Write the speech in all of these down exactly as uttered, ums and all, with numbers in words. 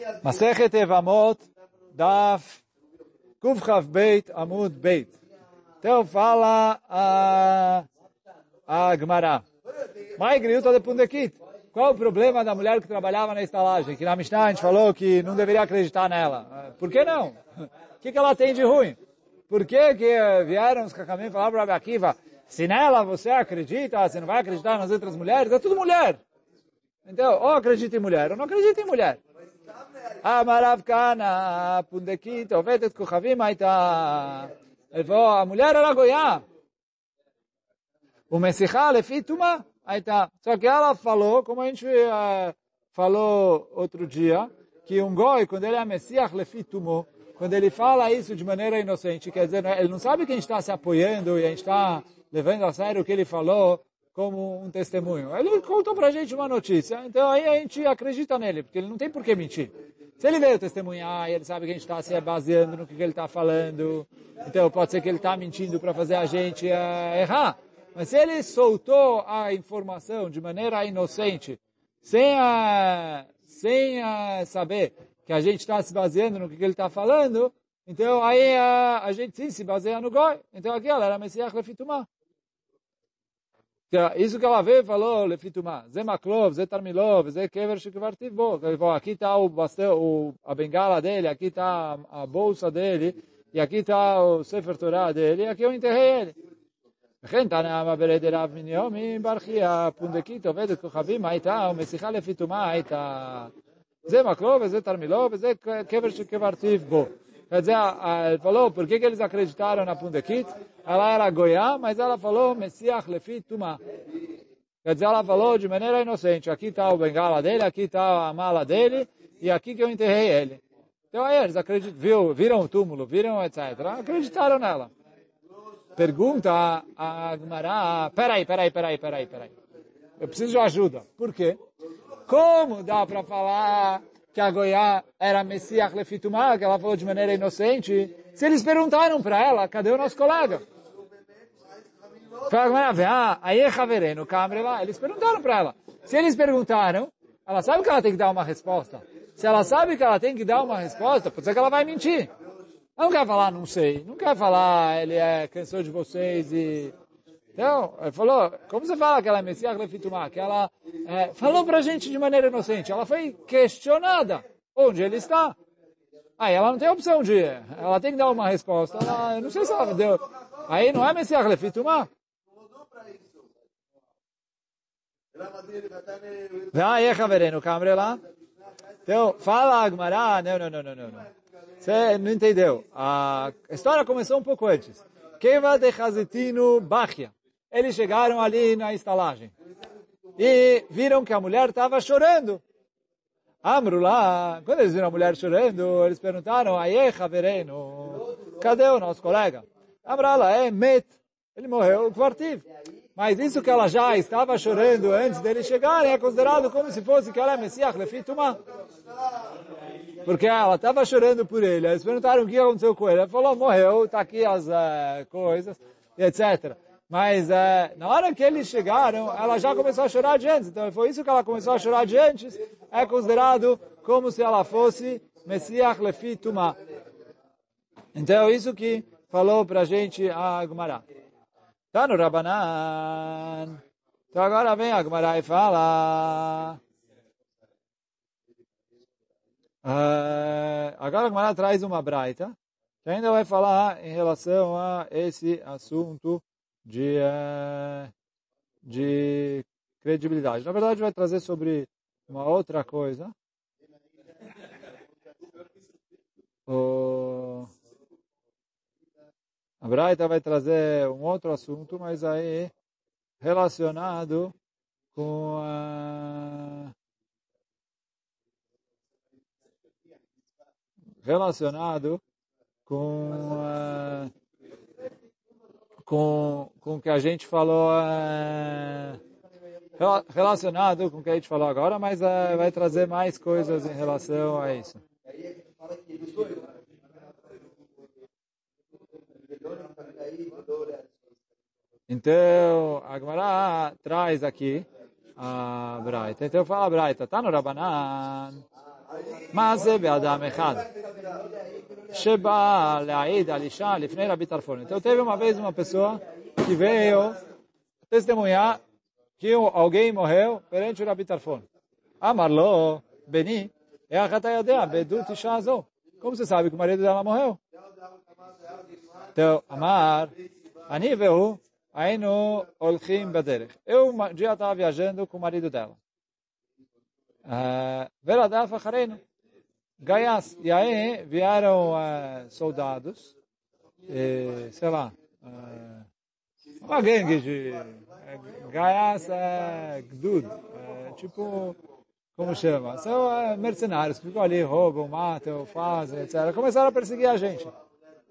Masechet Evamot, Daf Kufchav Beit Amud Beit. Então fala a, a Gemara. Mai griuta de Pundekit. Qual o problema da mulher que trabalhava na estalagem? Que na Mishnah a gente falou que não deveria acreditar nela. Por que não? O que, que ela tem de ruim? Por que, que vieram os Kakamim e falaram para Rabi Akiva, se nela você acredita, você não vai acreditar nas outras mulheres? É tudo mulher. Então, ou acredita em mulher, ou não acredita em mulher. Amarav Kana, Pundekit, Ovetet Kuchavim, Aita. Ele falou, a mulher era goiá. O Messichá, Lefi, Tuma, Aita. Só que ela falou, como a gente uh, falou outro dia, que um goi, quando ele é Messiach, Lefi, Tumo, quando ele fala isso de maneira inocente, quer dizer, ele não sabe que a gente está se apoiando e a gente está levando a sério o que ele falou como um testemunho. Ele contou pra gente uma notícia, então aí a gente acredita nele, porque ele não tem por que mentir. Se ele veio testemunhar e ele sabe que a gente está se baseando no que ele está falando, então pode ser que ele está mentindo para fazer a gente uh, errar. Mas se ele soltou a informação de maneira inocente, sem, uh, sem uh, saber que a gente está se baseando no que ele está falando, então aí uh, a gente sim se baseia no goi. Então aqui ela era Messiach Lefitumah. Isso que ela veio e falou, Lefitumah, Zé Maklov, Zé Tarmilov, Zé Kever Shekvartiv Bo. Aqui está o bastão, a bengala dele, aqui está a bolsa dele, e aqui está o Sefer Torah dele, e aqui eu enterrei ele. וכן תנא ברד רב מניומי ברכיה פונדקית עובדת כוכבים הייתה ומשיחה לפי טומאה הייתה זה מקלו וזה תרמילו וזה קבר שקברתיו בו. Quer dizer, ele falou, por que, que eles acreditaram na Pundekit? Ela era goiá, mas ela falou, Messiach lefi tumá. Quer dizer, ela falou de maneira inocente, aqui está o bengala dele, aqui está a mala dele, e aqui que eu enterrei ele. Então aí eles acreditam, viu, viram o túmulo, viram, etcétera. Acreditaram nela. Pergunta a Gemara, peraí, peraí, peraí, peraí, peraí. Eu preciso de ajuda. Por quê? Como dá para falar que a goiá era Messiach Lefitumah, que ela falou de maneira inocente, se eles perguntaram para ela, cadê o nosso colega? Ah, aí é Havereno, câmera lá. Eles perguntaram para ela. Se eles perguntaram, ela sabe que ela tem que dar uma resposta. Se ela sabe que ela tem que dar uma resposta, pode ser que ela vai mentir. Ela não quer falar, não sei. Não quer falar, ele é cansou de vocês e... Então, ele falou, como você fala que ela é Messiach Lefitumah? Que ela é, falou pra gente de maneira inocente. Ela foi questionada onde ele está. Aí ela não tem opção de... Ela tem que dar uma resposta. Ela, eu não sei se ela deu... Aí não é Messiach Lefitumah? Aí é Havereno, câmera lá. Então, fala a Gemara. Não, não, não, não, não. Você não entendeu. A história começou um pouco antes. Keva de Chazetino Bachia. Eles chegaram ali na estalagem. E viram que a mulher estava chorando. Amru lá. Quando eles viram a mulher chorando, eles perguntaram, Aie Havereno, cadê o nosso colega? Amrala, é Met. Ele morreu, Kvartiv. Mas isso que ela já estava chorando antes dele chegar é considerado como se fosse que ela é Messiach Lefitumah. Porque ela estava chorando por ele. Eles perguntaram o que aconteceu com ele. Ele falou, morreu, está aqui as uh, coisas, etcétera. Mas uh, na hora que eles chegaram, ela já começou a chorar de antes. Então foi isso que ela começou a chorar de antes. É considerado como se ela fosse Messiach Lefitumah. Então isso que falou pra gente a Gemara. Tá no Rabanan. Então agora vem a Gemara e fala... Uh, agora a Gemara traz uma braita, que ainda vai falar em relação a esse assunto de, uh, de credibilidade. Na verdade vai trazer sobre uma outra coisa. O... A braita vai trazer um outro assunto, mas aí relacionado com a... relacionado com uh, com com o que a gente falou uh, relacionado com o que a gente falou agora, mas uh, vai trazer mais coisas em relação a isso. Então a Gemara traz aqui a Braita. Então fala a Braita, tá no Rabanan. Mas é be'adam echad. Sheba le'aid al-isha lifnei Rabi Tarfon. Então teve uma vez uma pessoa que veio testemunhar que alguém morreu perante o Rabi Tarfon. Amarlo, Beni, é a Hatayadea, Bedut Ishazo. Como você sabe que o marido dela morreu? Então, Amar, Anivehu, Ainu Olchim Baderech. Eu um dia estava viajando com o marido dela. Veradaf Acharenu. Gaias. E aí vieram uh, soldados, e, sei lá, uh, uma gangue de uh, Gaias uh, Gdud, uh, tipo, como chama? São uh, mercenários que ficam ali, roubam, matam, fazem, etcétera. Começaram a perseguir a gente. Uh,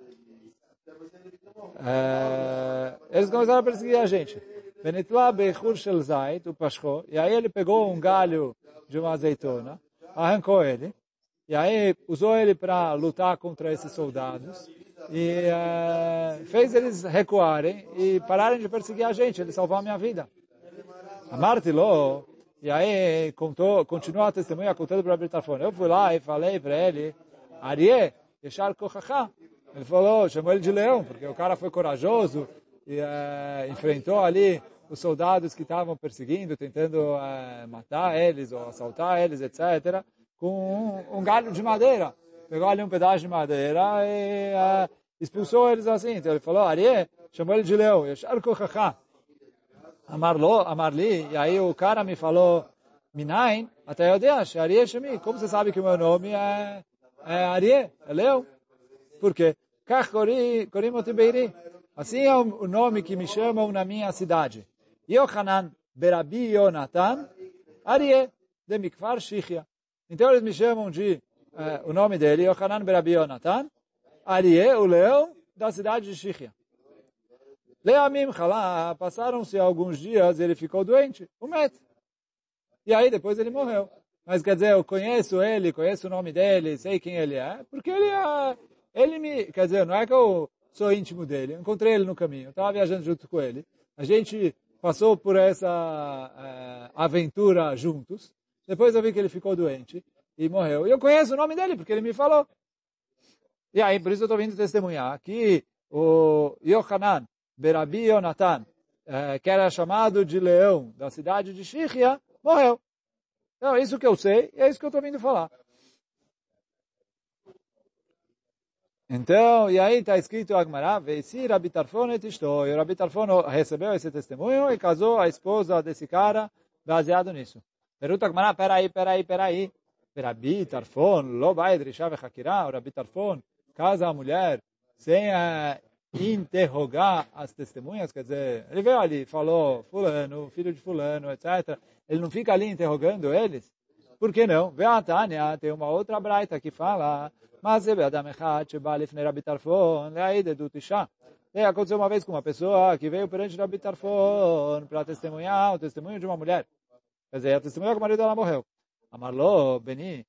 eles começaram a perseguir a gente. Benitla Bechur Shel Zait, o Pashko, e aí ele pegou um galho de uma azeitona, arrancou ele, e aí usou ele para lutar contra esses soldados e uh, fez eles recuarem e pararem de perseguir a gente. Ele salvou a minha vida. Amartilou, e aí contou, continuou a testemunha contando para o Rabi Tarfon. Eu fui lá e falei para ele, Arié, Yeshar Kochachá. Ele falou, chamou ele de leão, porque o cara foi corajoso e uh, enfrentou ali os soldados que estavam perseguindo, tentando uh, matar eles ou assaltar eles, etcétera, com um, um galho de madeira. Pegou ali um pedaço de madeira e uh, expulsou eles assim. Então ele falou, Arié, chamou ele de leão. Yeshar Kochachá. Amarlo, Amarli. E aí o cara me falou, Minain, até eu deixo, Arié Shemi. Como você sabe que o meu nome é, é Arié, é leão? Por quê? Kach Korimoti Beiri. Assim é o nome que me chamam na minha cidade. Yochanan Berabi Yonatan Arié de Mikfar Shichya. Então eles me chamam de, uh, o nome dele, Yochanan Berabi Yonatan, Arié, o leão da cidade de Shichya. Leamim Chalá, passaram-se alguns dias, ele ficou doente, o Met. E aí depois ele morreu. Mas quer dizer, eu conheço ele, conheço o nome dele, sei quem ele é, porque ele é, ele me, quer dizer, não é que eu sou íntimo dele, eu encontrei ele no caminho, eu estava viajando junto com ele, a gente passou por essa uh, aventura juntos. Depois eu vi que ele ficou doente e morreu. E eu conheço o nome dele, porque ele me falou. E aí, por isso eu estou vindo testemunhar que o Yochanan Berabi Yonatan, eh, que era chamado de leão da cidade de Shichya, morreu. Então, é isso que eu sei e é isso que eu estou vindo falar. Então, e aí está escrito Agmará, Veisi Rabi Tarfon et Ishto. E o Rabi Tarfon recebeu esse testemunho e casou a esposa desse cara baseado nisso. Pergunta Agmará, peraí, peraí, peraí. Rabi Tarfon, lo vai drisha vechakirá. O Rabi Tarfon casa a mulher sem uh, interrogar as testemunhas, quer dizer, ele veio ali, falou, fulano, filho de fulano, etcétera. Ele não fica ali interrogando eles? Por que não? Vê a Tânia, tem uma outra braita que fala, mas é Adam Echad, Sheba Lifnei Rabi Tarfon, Leaide do Tisha. Aconteceu uma vez com uma pessoa que veio perante Rabi Tarfon para testemunhar o testemunho de uma mulher. Quer dizer, a testemunha que o marido dela morreu. Amarlo, Beni,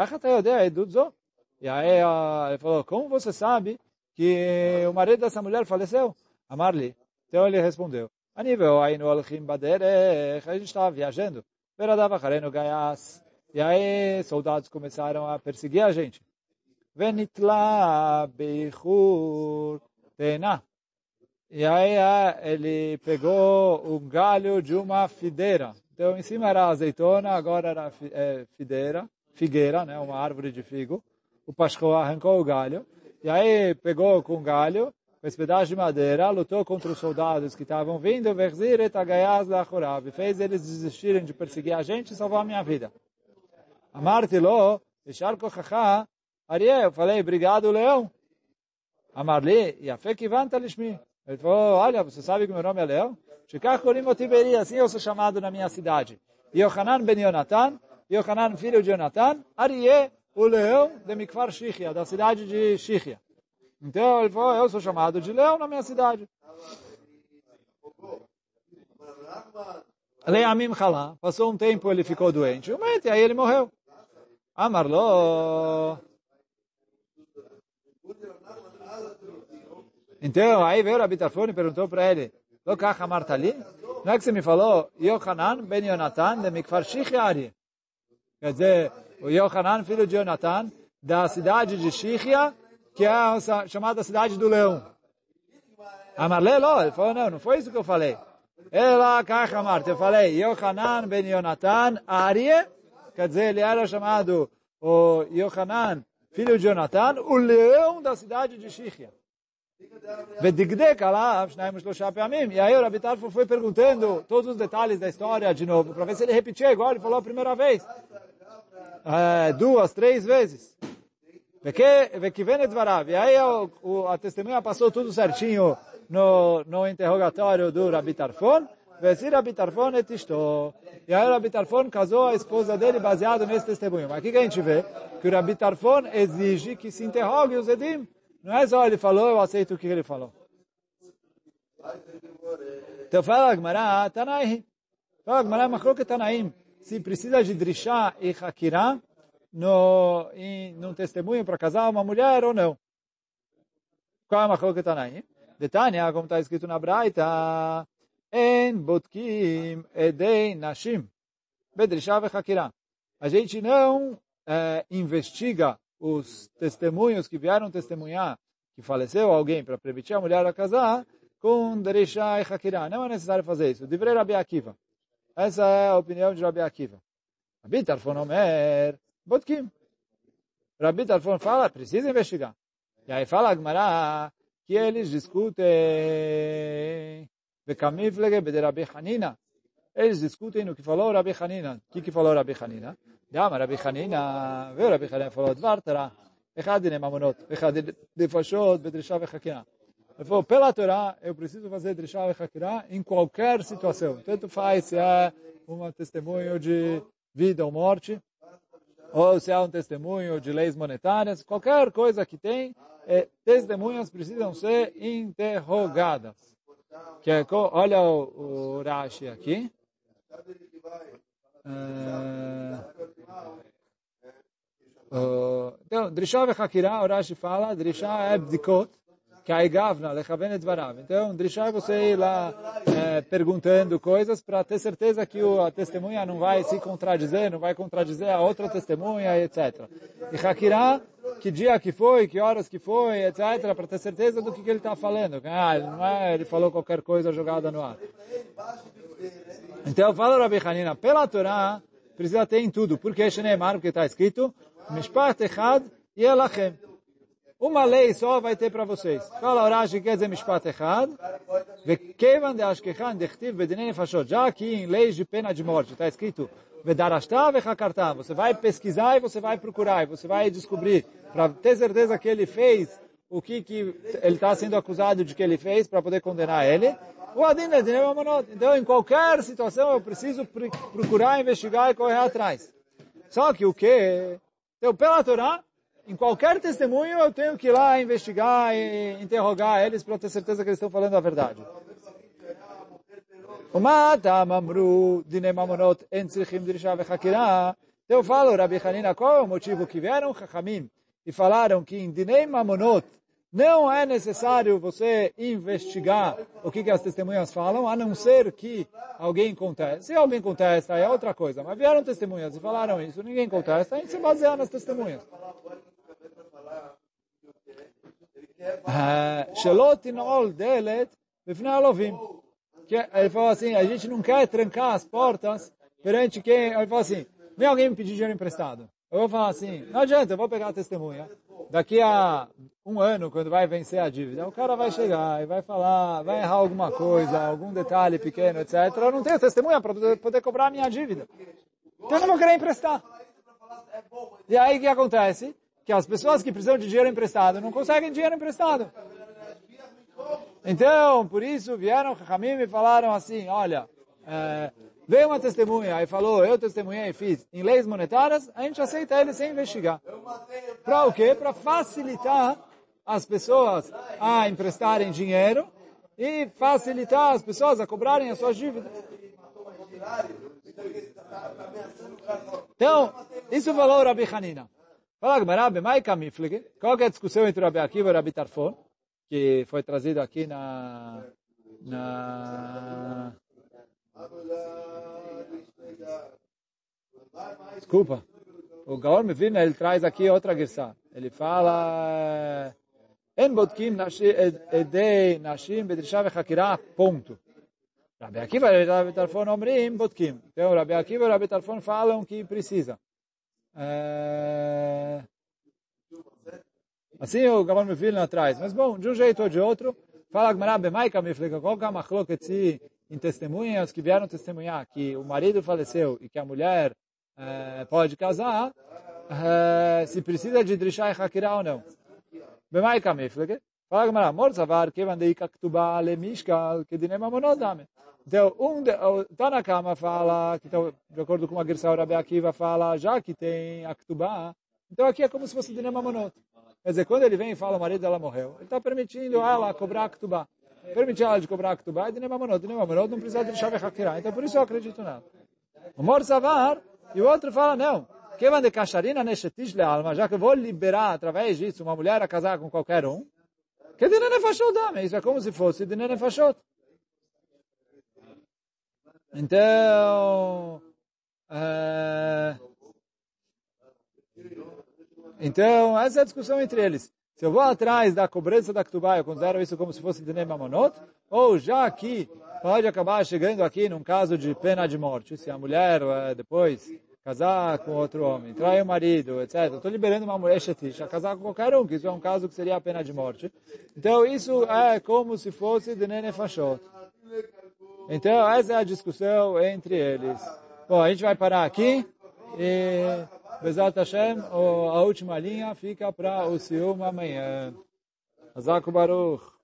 e aí ele falou, como você sabe que o marido dessa mulher faleceu? Amarli. Então ele respondeu, a nível aí no Alchim Baderech, a gente estava viajando, Veradava Harenu Gaias, e aí soldados começaram a perseguir a gente. Venitla Beichur Tena. E aí ele pegou um galho de uma fideira. Então, em cima era azeitona, agora era é, fideira, figueira, né, uma árvore de figo. O Pashko arrancou o galho, e aí pegou com o galho, com esse pedaço de madeira, lutou contra os soldados que estavam vindo, e fez eles desistirem de perseguir a gente e salvar a minha vida. Amartilo, Arié, eu falei, obrigado, leão. Amarli, e a fé que vanta lishmi. Ele falou, olha, você sabe que meu nome é Leão? Assim eu sou chamado na minha cidade. Yochanan ben Yonatan, Yochanan filho de Yonatan, Arié, o leão de Mikfar Shichya, da cidade de Shichya. Então ele falou, eu sou chamado de leão na minha cidade. Leamim Chalá, passou um tempo, ele ficou doente. E aí ele morreu. Amarlo. Então, aí veio o Rabi Tarfon e perguntou para ele, não é que você me falou, Yochanan ben Yonatan de Mikfar Shichya Ari? Quer dizer, o Yohanan, filho de Jonathan, da cidade de Shihia, que é a chamada cidade do leão. Amarle, não, ele falou, não, não foi isso que eu falei. Ela, Kachamart, eu falei, Yohanan ben Jonathan, Arie, quer dizer, ele era chamado o Yohanan, filho de Jonathan, o leão da cidade de Shihia. E aí o Rabi Tarfon foi perguntando todos os detalhes da história de novo, para ver se ele repetia igual ele falou a primeira vez. É, duas, três vezes. E aí o, o, a testemunha passou tudo certinho no, no interrogatório do Rabi Tarfon. E aí o Rabi Tarfon casou a esposa dele baseado nesse testemunho. Mas o que, que a gente vê? Que o Rabi Tarfon exige que se interrogue os Edim. Não é só ele falou, eu aceito o que ele falou. Então fala Agmará, Tanaim. Fala Agmará, Machlok Tanaim. Se precisa de drishá e hakirá no, em, num testemunho para casar uma mulher ou não. Qual é a Machlok Tanaim? Detânia, como está escrito na Braita, En botkim edei nashim. Bedrishá e hakirá. A gente não é, investiga os testemunhos que vieram testemunhar que faleceu alguém para permitir a mulher a casar com Derishá e Hakirá. Não é necessário fazer isso. Divrei Rabi Akiva. Essa é a opinião de Rabi Akiva. Rabi Tarfon Omer, Botkim. Rabi Tarfon fala, precisa investigar. E aí fala Agmará que eles discutem Bekamiflege bede Rabi Hanina. Eles discutem no que falou Rabi Hanina. O que, que falou Rabi Hanina? Dama Rabi Hanina, veio Rabi Hanina falou, Dvar Torah, Echad dine mamonot, Echad defashot, bedrishá vechakirá. Ele falou, pela Torá, eu preciso fazer drishá vechakirá em qualquer situação. Tanto faz se é um testemunho de vida ou morte, ou se é um testemunho de leis monetárias, qualquer coisa que tem, é, testemunhas precisam ser interrogadas. Que é, olha o, o Rashi aqui. Uh, uh, então, Drishá e Hakirá, o Rashi fala, Drishá é Bdikot, que é Gavna, Lechaven et Varav. Então, Drishá é você ir lá é, perguntando coisas para ter certeza que o, a testemunha não vai se contradizer, não vai contradizer a outra testemunha, etcétera. E Hakirá, que dia que foi, que horas que foi, etcétera, para ter certeza do que, que ele está falando. Ah, ele não é, ele falou qualquer coisa jogada no ar. Então, fala Rabi Hanina, pela Torá, precisa ter em tudo. Porque Sheneemar, porque está escrito, Mishpat Echad Yelachem. Uma lei só vai ter para vocês. Fala Rashi, quer dizer Mishpat Echad, Vekevan de Ashkechan Dechtiv Bedinei Nefashot. Já aqui em leis de pena de morte, está escrito, Vedarashta Vechakarta. Você vai pesquisar e você vai procurar, e você vai descobrir, para ter certeza que ele fez o que, que ele está sendo acusado de que ele fez, para poder condenar ele. O Adin é Dinei Mamonot. Então, em qualquer situação, eu preciso procurar, investigar e correr atrás. Só que o que? Então, pela Torá, em qualquer testemunho, eu tenho que ir lá investigar e interrogar eles para ter certeza que eles estão falando a verdade. Então, eu falo, Rabi Hanina, qual é o motivo que vieram Chachamim e falaram que em Dinei Mamonot não é necessário você investigar o que, que as testemunhas falam, a não ser que alguém conteste. Se alguém contesta, é outra coisa. Mas vieram testemunhas e falaram isso, ninguém contesta, a gente se baseia nas testemunhas. Ele falou assim, a gente não quer trancar as portas perante quem... Ele falou assim, vem alguém me pedir dinheiro emprestado. Eu vou falar assim, não adianta, eu vou pegar a testemunha. Daqui a um ano, quando vai vencer a dívida, o cara vai chegar e vai falar, vai errar alguma coisa, algum detalhe pequeno, etcétera. Eu não tenho testemunha para poder, poder cobrar a minha dívida. Então eu não vou querer emprestar. E aí o que acontece? Que as pessoas que precisam de dinheiro emprestado não conseguem dinheiro emprestado. Então, por isso, vieram Chachamim e falaram assim, olha, é, veio uma testemunha e falou, eu testemunhei e fiz em leis monetárias, a gente aceita ele sem investigar. Para o quê? Para facilitar as pessoas a emprestarem dinheiro e facilitar as pessoas a cobrarem as suas dívidas. Então, isso falou o Rabi Hanina. Fala, Gmará, Bemai Kamiflege, qual é a discussão entre o Rabi Akiva e o Rabi Tarfon, que foi trazido aqui na... na Desculpa. o Gaon Mevilna, ele traz aqui outra guerça. Ele fala, En bodkim edei nashim bedrisha vechakira, ponto. Rabi Akiva e Rabi Tarfon omrim bodkim. Então, Rabi Akiva e Rabi Tarfon falam que precisa. É... Assim o Gaon Mevilna traz. Mas bom, de um jeito ou de outro, fala Gmará Bemaika Mifleka, qual que é a machloket em testemunhas que vieram testemunhar que o marido faleceu e que a mulher é, pode casar, é, se precisa de Drishá e Hakirá ou não. Bemaika Mifleka, fala Gmará, Morzavar, Kevan Deika Ktubá Lemishkal, Kedinem Amonodame. Então, um está na cama, fala, que então, de acordo com a Gersa Rabi Akiva, fala, já que tem a Ktubá, então aqui é como se fosse Dinem Amonot. Quer dizer, quando ele vem e fala o marido dela morreu, ele está permitindo ela cobrar a Ktubá. Permitir ela de cobrar a Ktubá e Dinem Amonot. Dinem Amonot não precisa de chave Hakirá. Então, por isso eu acredito nela. O Mor Savar, e o outro fala, não. Kevan de Kasharina Neshetish le alma, já que eu vou liberar através disso uma mulher a casar com qualquer um, que Dinem Nefashot dame. Isso é como se fosse Dinem Nefashot. Então, é... então, essa é a discussão entre eles. Se eu vou atrás da cobrança da Ktubá, eu considero isso como se fosse Dinem Amonot, ou já que pode acabar chegando aqui num caso de pena de morte, se a mulher depois casar com outro homem, trai o marido, etcétera. Estou liberando uma mulher shetish a casar com qualquer um, que isso é um caso que seria a pena de morte. Então, isso é como se fosse Dinem Nefashot. Então, essa é a discussão entre eles. Bom, a gente vai parar aqui e, Bezat Hashem, a última linha fica para o Sium amanhã. Hazak Baruch.